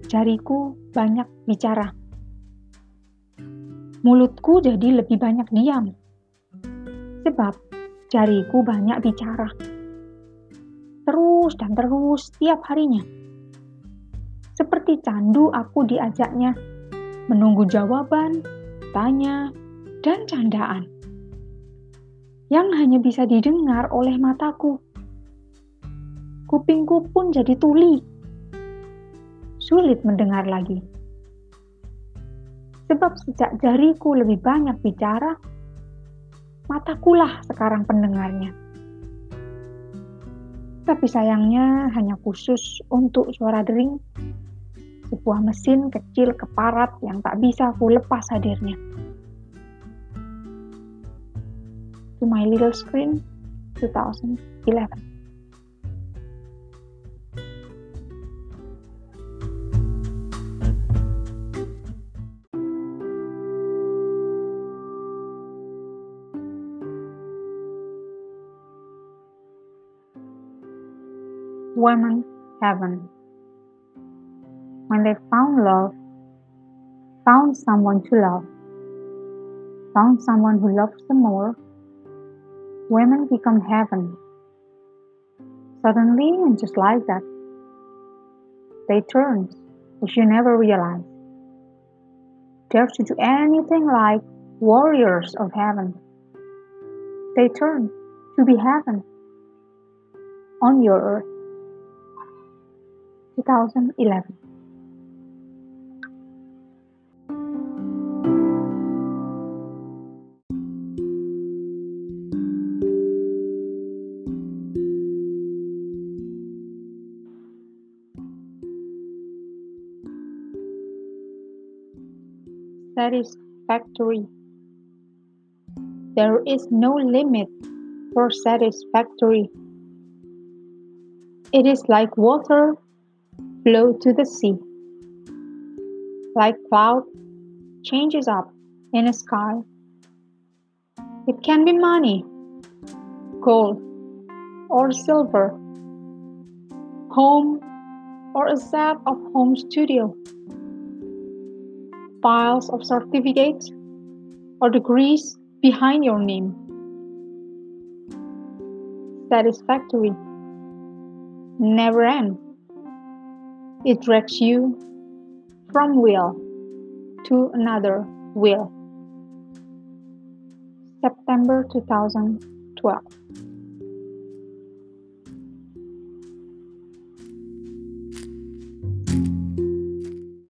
jariku banyak bicara. Mulutku jadi lebih banyak diam. Sebab jariku banyak bicara. Terus dan terus setiap harinya. Seperti candu aku diajaknya menunggu jawaban, tanya, dan candaan. Yang hanya bisa didengar oleh mataku. Kupingku pun jadi tuli. Sulit mendengar lagi. Sebab sejak jariku lebih banyak bicara, matakulah sekarang pendengarnya. Tapi sayangnya hanya khusus untuk suara dering, sebuah mesin kecil keparat yang tak bisa ku lepas hadirnya. To My Little Screen, 2011. Women Heaven. When they found love, found someone to love, found someone who loves them more, women become heaven. Suddenly, and just like that, they turned, as you never realized. Dare to do anything like warriors of heaven. They turned to be heaven on your earth. 2011. Satisfactory. There is no limit for satisfactory. It is like water flow to the sea. Like cloud changes up in a sky. It can be money, gold, or silver, home, or a set of home studio, piles of certificates, or degrees behind your name. Satisfactory. Never end. It drags you from will to another will. September 2012.